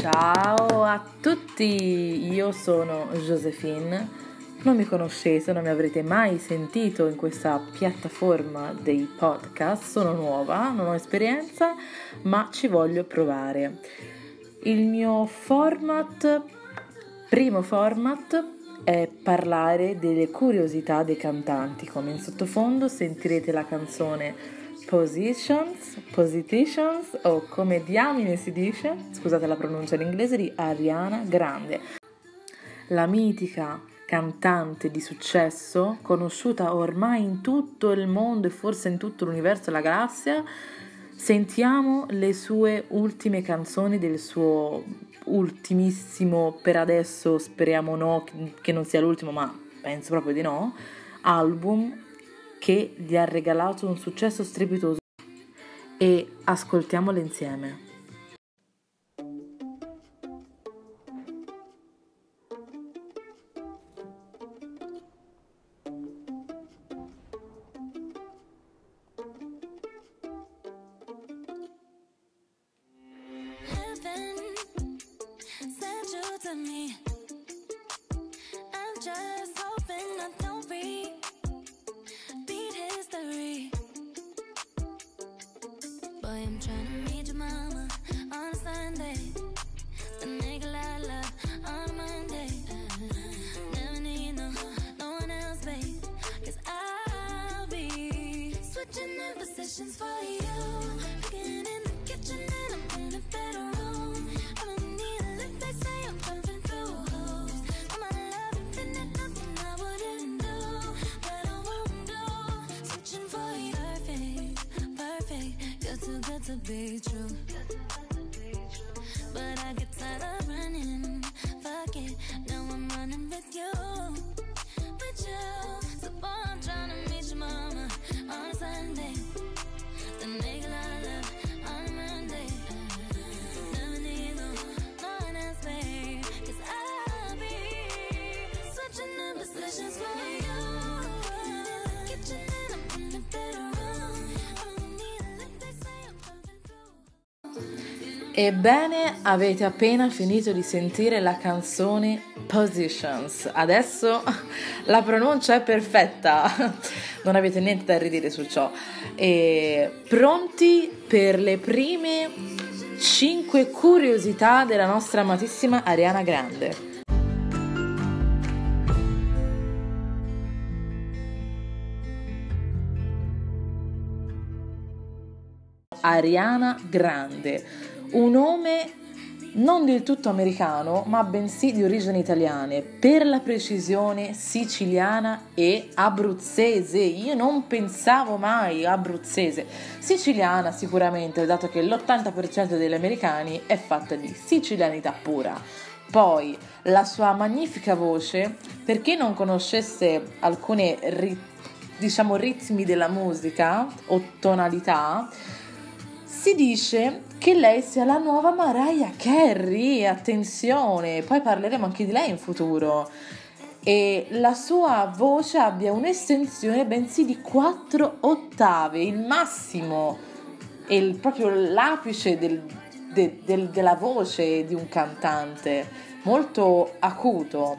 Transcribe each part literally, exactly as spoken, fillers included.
Ciao a tutti, io sono Josephine, non mi conoscete, non mi avrete mai sentito in questa piattaforma dei podcast, sono nuova, non ho esperienza, ma ci voglio provare. Il mio format, primo format, è parlare delle curiosità dei cantanti, come in sottofondo sentirete la canzone Positions, Positions o come diamine si dice, scusate la pronuncia in inglese, di Ariana Grande, la mitica cantante di successo, conosciuta ormai in tutto il mondo e forse in tutto l'universo e la galassia. Sentiamo le sue ultime canzoni del suo ultimissimo, per adesso speriamo no, che non sia l'ultimo, ma penso proprio di no, album che gli ha regalato un successo strepitoso, e ascoltiamole insieme. I'm trying to meet your mama on a Sunday. The nigga I love on a Monday. Never need no, no one else, babe. Cause I'll be switching in positions for you. Cooking in the kitchen and I'm in a better room. I don't need a lift, they say I'm jumping through hoops. For my love infinite, nothing I wouldn't do, that I won't do. Switching for you, perfect, perfect. You're too good to be true. But I get tired of running. Fuck it, now I'm running with you. With you. So boy, I'm trying to meet your mama on a Sunday. The nigga I love on a Monday. Never need no, no one else, babe. Cause I'll be switching in positions for you. Kitchen and I'm in the bedroom. Ebbene, avete appena finito di sentire la canzone Positions. Adesso la pronuncia è perfetta, non avete niente da ridire su ciò. E pronti per le prime cinque curiosità della nostra amatissima Ariana Grande. Ariana Grande, un nome non del tutto americano, ma bensì di origini italiane, per la precisione siciliana e abruzzese. Io non pensavo mai abruzzese, siciliana sicuramente, dato che l'ottanta per cento degli americani è fatta di sicilianità pura. Poi la sua magnifica voce, per chi non conoscesse alcune rit- diciamo ritmi della musica o tonalità, si dice che lei sia la nuova Mariah Carey, attenzione, poi parleremo anche di lei in futuro, e la sua voce abbia un'estensione bensì di quattro ottave, il massimo, è il, proprio l'apice del, de, del, della voce di un cantante, molto acuto.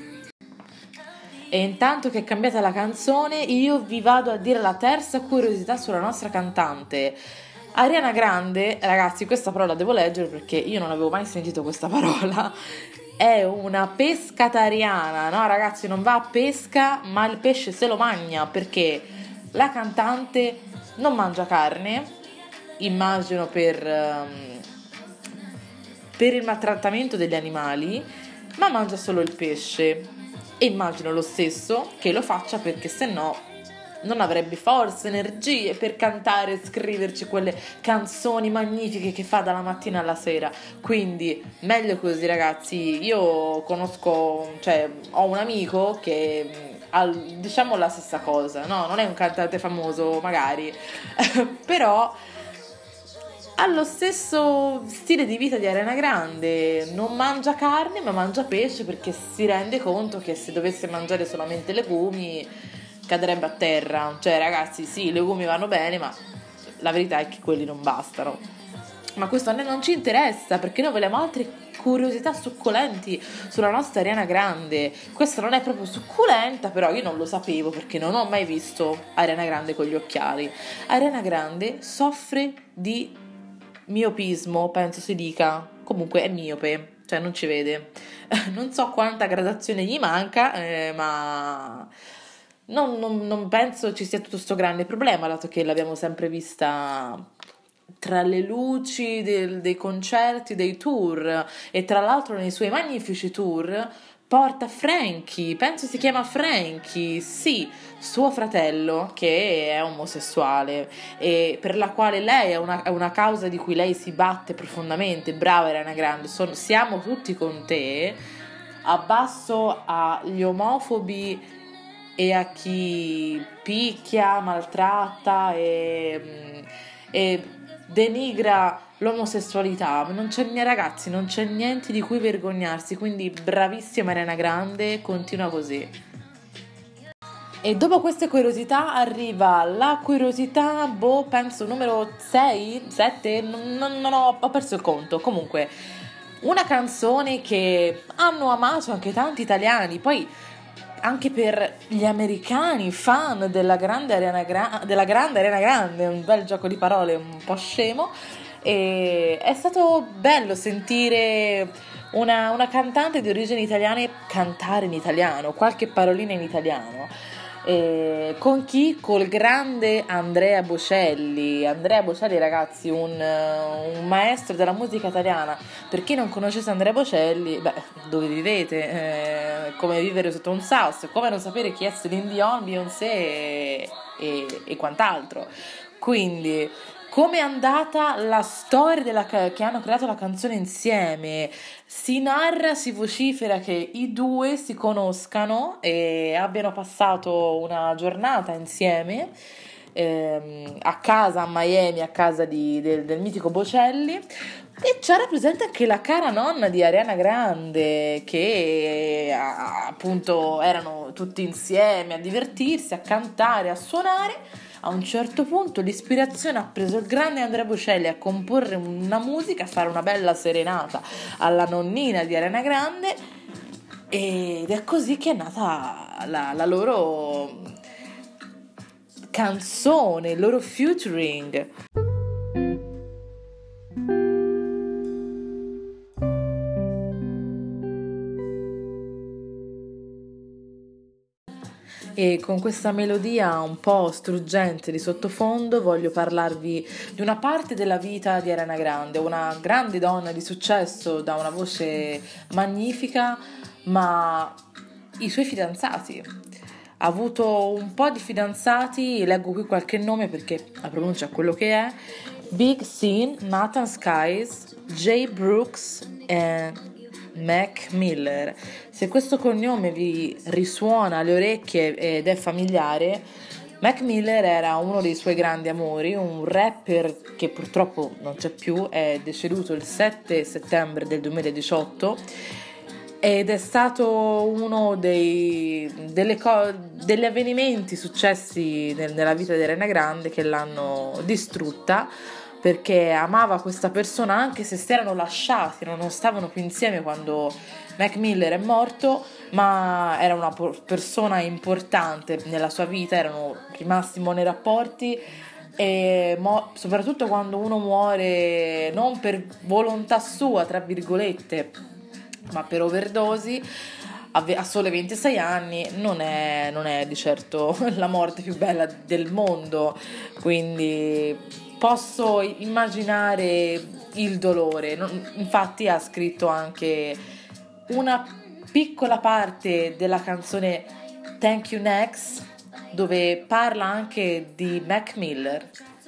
E intanto che è cambiata la canzone, io vi vado a dire la terza curiosità sulla nostra cantante. Ariana Grande, ragazzi, questa parola devo leggere perché io non avevo mai sentito questa parola, è una pescatariana, no ragazzi, non va a pesca ma il pesce se lo mangia, perché la cantante non mangia carne, immagino per, um, per il maltrattamento degli animali, ma mangia solo il pesce, e immagino lo stesso che lo faccia perché se no non avrebbe forze, energie per cantare e scriverci quelle canzoni magnifiche che fa dalla mattina alla sera. Quindi meglio così, ragazzi. Io conosco, cioè ho un amico che ha, diciamo, la stessa cosa, no? Non è un cantante famoso magari però ha lo stesso stile di vita di Ariana Grande, non mangia carne ma mangia pesce, perché si rende conto che se dovesse mangiare solamente legumi cadrebbe a terra. Cioè ragazzi, sì, i legumi vanno bene, ma la verità è che quelli non bastano. ma questo a noi non ci interessa, perché noi vogliamo altre curiosità succulenti sulla nostra Ariana Grande. Questa non è proprio succulenta, però io non lo sapevo perché non ho mai visto Ariana Grande con gli occhiali. Ariana Grande soffre di miopismo, penso si dica, comunque è miope, cioè non ci vede. Non so quanta gradazione gli manca, eh, ma non, non, non penso ci sia tutto sto grande problema, dato che l'abbiamo sempre vista tra le luci del, dei concerti, dei tour, e tra l'altro nei suoi magnifici tour porta Frankie, penso si chiama Frankie, sì, suo fratello, che è omosessuale e per la quale lei è una, è una causa di cui lei si batte profondamente. Brava Ariana Grande, sono, siamo tutti con te. Abbasso agli omofobi e a chi picchia, maltratta e, e denigra l'omosessualità. Non c'è, ragazzi, non c'è niente di cui vergognarsi, quindi bravissima Ariana Grande, continua così. E dopo queste curiosità arriva la curiosità, boh, penso numero sei, sette, non, non, non ho, ho perso il conto. Comunque, una canzone che hanno amato anche tanti italiani, poi anche per gli americani fan della grande Ariana, Gra- della grande Ariana Grande, un bel gioco di parole un po' scemo, e è stato bello sentire una, una cantante di origini italiane cantare in italiano, qualche parolina in italiano. E con chi? Col grande Andrea Bocelli. Andrea Bocelli, ragazzi, un, un maestro della musica italiana. Per chi non conoscesse Andrea Bocelli, beh, dove vivete? Eh, come vivere sotto un sasso, come non sapere chi è Celine Dion, Beyoncé e, e, e quant'altro. Quindi, come è andata la storia della, che hanno creato la canzone insieme? Si narra, si vocifera che i due si conoscano e abbiano passato una giornata insieme ehm, a casa a Miami, a casa di, del, del mitico Bocelli. E c'era presente anche la cara nonna di Ariana Grande, che appunto erano tutti insieme a divertirsi, a cantare, a suonare. A un certo punto l'ispirazione ha preso il grande Andrea Bocelli a comporre una musica, a fare una bella serenata alla nonnina di Ariana Grande, ed è così che è nata la, la loro canzone, il loro featuring. E con questa melodia un po' struggente di sottofondo voglio parlarvi di una parte della vita di Ariana Grande, una grande donna di successo, da una voce magnifica, ma i suoi fidanzati. Ha avuto un po' di fidanzati, leggo qui qualche nome perché la pronuncia è quello che è: Big Sean, Nathan Skies, Jay Brooks e Mac Miller. Se questo cognome vi risuona alle orecchie ed è familiare, Mac Miller era uno dei suoi grandi amori, un rapper che purtroppo non c'è più, è deceduto il sette settembre del duemiladiciotto ed è stato uno dei, delle co- degli avvenimenti successi nel, nella vita di Ariana Grande che l'hanno distrutta, perché amava questa persona anche se si erano lasciati, non stavano più insieme quando Mac Miller è morto, ma era una persona importante nella sua vita, erano rimasti in buoni rapporti e mo- soprattutto quando uno muore non per volontà sua, tra virgolette, ma per overdosi a sole ventisei anni, non è, non è di certo la morte più bella del mondo, quindi posso immaginare il dolore. Infatti ha scritto anche una piccola parte della canzone Thank You Next, dove parla anche di Mac Miller.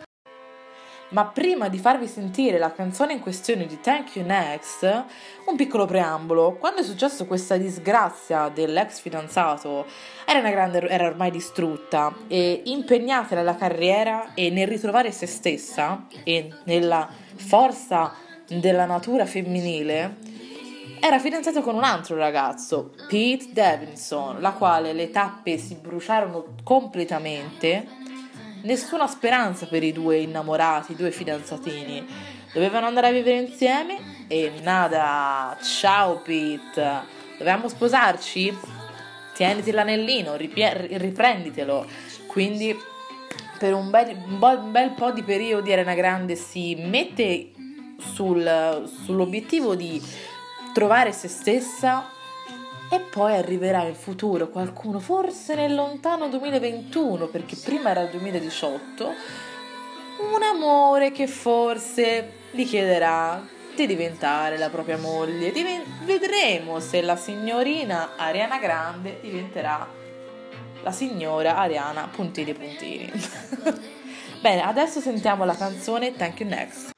Ma prima di farvi sentire la canzone in questione di Thank You Next, un piccolo preambolo. Quando è successo questa disgrazia dell'ex fidanzato, Ariana Grande era ormai distrutta e impegnata nella carriera e nel ritrovare se stessa e nella forza della natura femminile. Era fidanzata con un altro ragazzo, Pete Davidson, la quale le tappe si bruciarono completamente. Nessuna speranza per i due innamorati, i due fidanzatini. dovevano andare a vivere insieme e nada, ciao Pete, dovevamo sposarci? Tieniti l'anellino, ripie- riprenditelo. Quindi per un bel, un bo- un bel po' di periodi Ariana Grande si mette sul, sull'obiettivo di trovare se stessa, e poi arriverà in futuro qualcuno, forse nel lontano duemilaventuno, perché prima era il duemiladiciotto, un amore che forse gli chiederà di diventare la propria moglie. Diven- vedremo se la signorina Ariana Grande diventerà la signora Ariana puntini puntini. Bene, adesso sentiamo la canzone Thank You Next.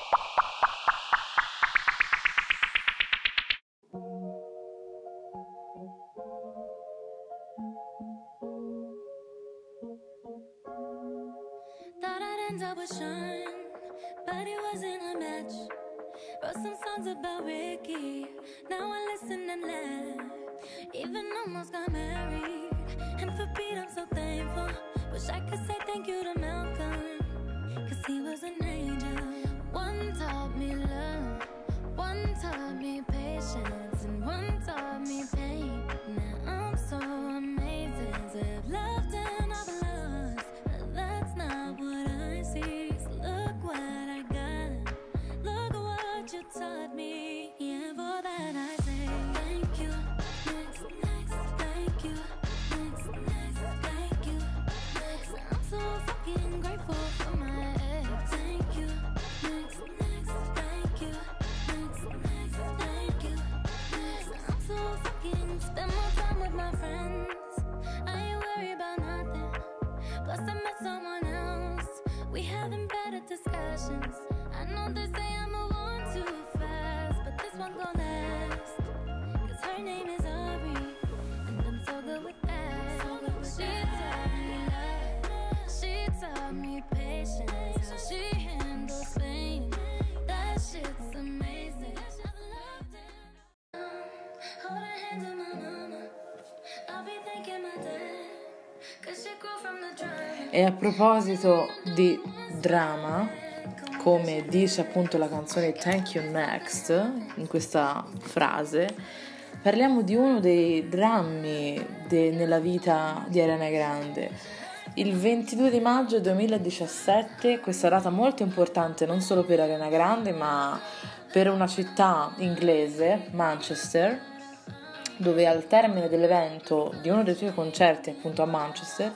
Thought I'd end up with Sean, but it wasn't a match. Wrote some songs about Ricky, now I listen and laugh. Even almost got married, and for Pete I'm so thankful. Wish I could say thank you to Malcolm, cause he was an angel. One taught me love, one taught me patience, and one taught me pain. Now I'm so amazing to have loved and I've lost, but that's not what I see. So look what I got, look what you taught me. Yeah, for that I say thank you. Next, next, thank you. Next, next, thank you. Next, I'm so fucking grateful for my ex. Thank you. Next, next, thank you. Next, next, thank you. Next, I'm so fucking spend more time with my friends. I ain't worried about nothing. Plus I met someone else. We having better discussions. I know they say I move on too fast, but this one gon' last. Cause her name is Aubrey, and I'm so good with that. So good with she taught me love, she taught me patience, how she handles pain. That shit's amazing. Hold her hand in my mama, I'll be thanking my dad, cause she grew from the drama. E a proposito di drama, come dice appunto la canzone Thank You Next, in questa frase, parliamo di uno dei drammi de- nella vita di Ariana Grande. Il ventidue di maggio duemiladiciassette, questa data molto importante non solo per Ariana Grande, ma per una città inglese, Manchester, dove al termine dell'evento di uno dei suoi concerti appunto a Manchester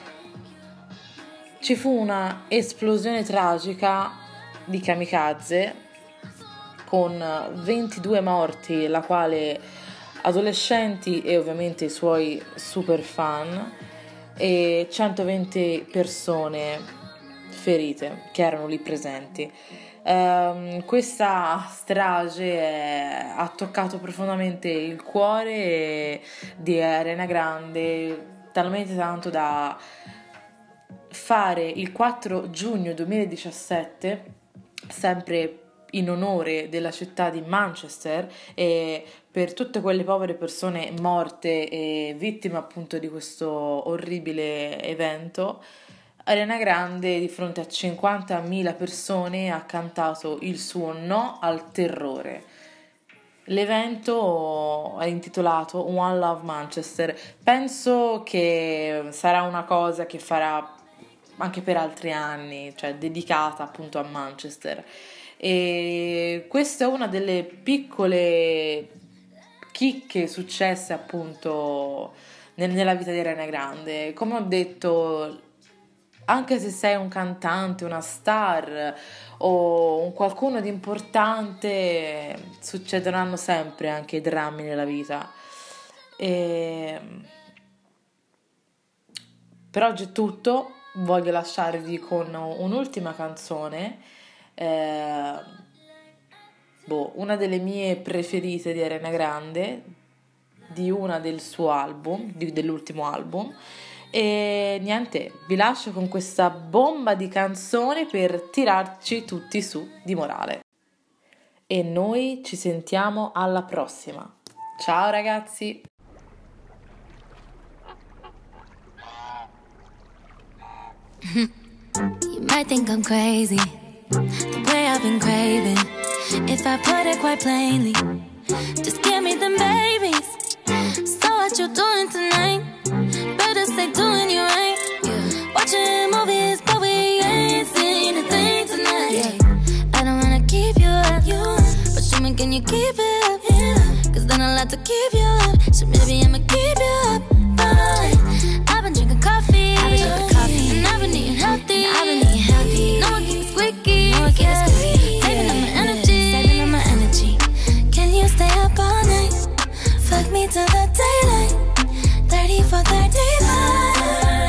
ci fu una esplosione tragica di kamikaze con ventidue morti, la quale adolescenti e ovviamente i suoi super fan, e centoventi persone ferite che erano lì presenti. Um, questa strage è- ha toccato profondamente il cuore di Ariana Grande, talmente tanto da fare il quattro giugno duemiladiciassette, sempre in onore della città di Manchester e per tutte quelle povere persone morte e vittime appunto di questo orribile evento, Ariana Grande di fronte a cinquantamila persone ha cantato il suo no al terrore. L'evento è intitolato One Love Manchester. Penso che sarà una cosa che farà anche per altri anni, cioè dedicata appunto a Manchester. E questa è una delle piccole chicche successe appunto nel- nella vita di Ariana Grande. Come ho detto, anche se sei un cantante, una star o un qualcuno di importante, succederanno sempre anche drammi nella vita. E per oggi è tutto. Voglio lasciarvi con un'ultima canzone, eh, boh, una delle mie preferite di Ariana Grande, di una del suo album, di- dell'ultimo album. E niente, vi lascio con questa bomba di canzone per tirarci tutti su di morale. E noi ci sentiamo alla prossima. Ciao ragazzi! You might think I'm crazy, the way I've been craving. If I put it quite plainly, just give me them babies. So what you doing tonight? Better stay doing you right. Watching movies, but we ain't seen a thing tonight. I don't wanna keep you up, but show me, can you keep it up? Cause then I'll have to keep you up. So maybe I'ma keep you up. Fine. I've been drinking coffee, I've been drinking coffee, and I've been eating healthy. I've been eating healthy. No one keeps squeaky, no one keeps squeaky. Saving up my energy, saving up my energy. Can you stay up all night? Fuck me till the daylight. Thirty for thirty-five.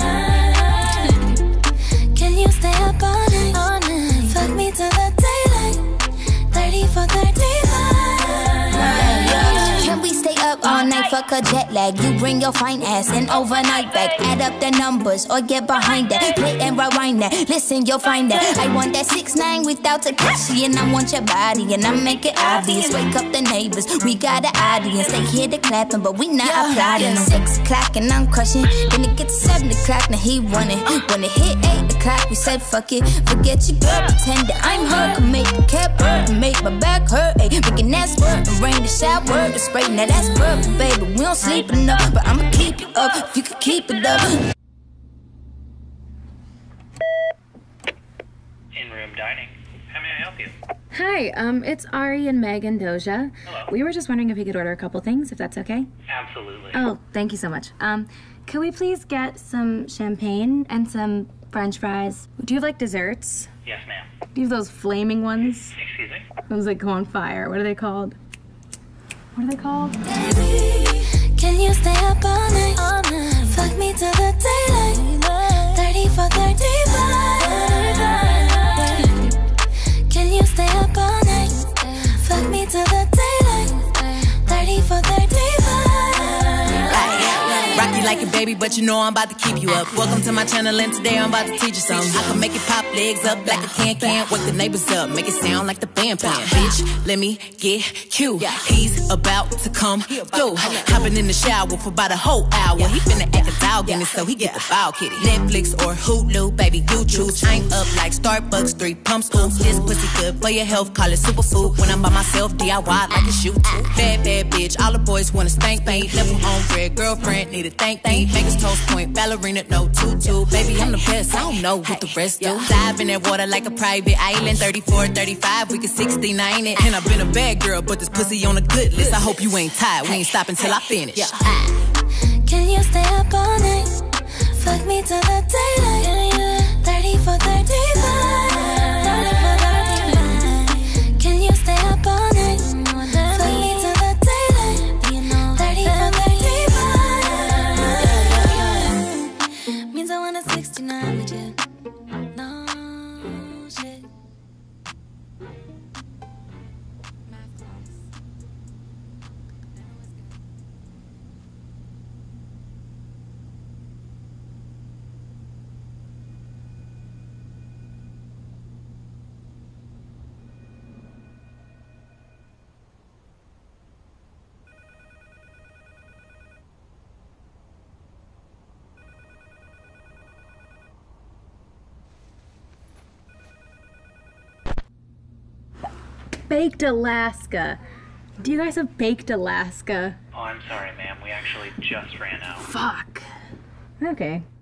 Can you stay up all night? All night. Fuck me till the daylight. Thirty for thirty-five. Can we stay up all night? Fuck a jet lag. You bring your fine ass and overnight back. Add up the numbers or get behind that. Play and rewind that. Listen, you'll find that. I want that six nine without Takashi, and I want your body, and I make it obvious. Wake up the neighbors. We got an audience. They hear the clapping, but we not applauding. Six o'clock and I'm crushing. Then it gets seven o'clock. Now he running. When it hit eight o'clock, we said fuck it. Forget your girl. Pretend that I'm her. Can make the cap hurt. Can make my back hurt. Ay, making that squirt and rain the shower. The spray. Now that's perfect, baby. We don't sleep enough, but I'ma keep you up if you can keep it up. In-room dining. How may I help you? Hi, um, it's Ari and Meg and Doja. Hello. We were just wondering if we could order a couple things, if that's okay. Absolutely. Oh, thank you so much. Um, could we please get some champagne and some French fries? Do you have, like, desserts? Yes, ma'am. Do you have those flaming ones? Excuse me? Ones that go on fire. What are they called? What are they called? Can you stay up all night? All night. Fuck me till the daylight. Thirty for thirty-five. Can you stay up all night? Fuck me till the daylight. Thirty for thirty-five. Rock you like a baby, but you know I'm about to keep you up. Welcome to my channel, and today I'm about to teach you something. I can make it pop legs up like a can-can. Wake the neighbors up, make it sound like the band playing. Bitch, let me get cute. He's about to come through. Hopping in the shower for about a whole hour. He finna act a dog in it, so he get the ball kitty. Netflix or Hulu, baby, you choose. I'm up like Starbucks, three pumps, ooh. This pussy good for your health, call it superfood. When I'm by myself, D I Y like a shoot. Bad, bad bitch, all the boys wanna spank me. Level on red, girlfriend, need a thank me. Vegas toast point, ballerina, no tutu. Baby, I'm the best, I don't know what the rest do. Dive in that water like a private island. Thirty-four, thirty-five, we can sixty-nine it. And I've been a bad girl, but this pussy on a good list. I hope you ain't tired, we ain't stopping till I finish. Can you stay up all night? Fuck me till the daylight. Thirty for thirty-five. Can you stay up all night? Fuck me till the daylight. Thirty for thirty-five. Means I want a sixty-nine with you. No shit. Baked Alaska. Do you guys have Baked Alaska? Oh, I'm sorry, ma'am. We actually just ran out. Fuck. Okay.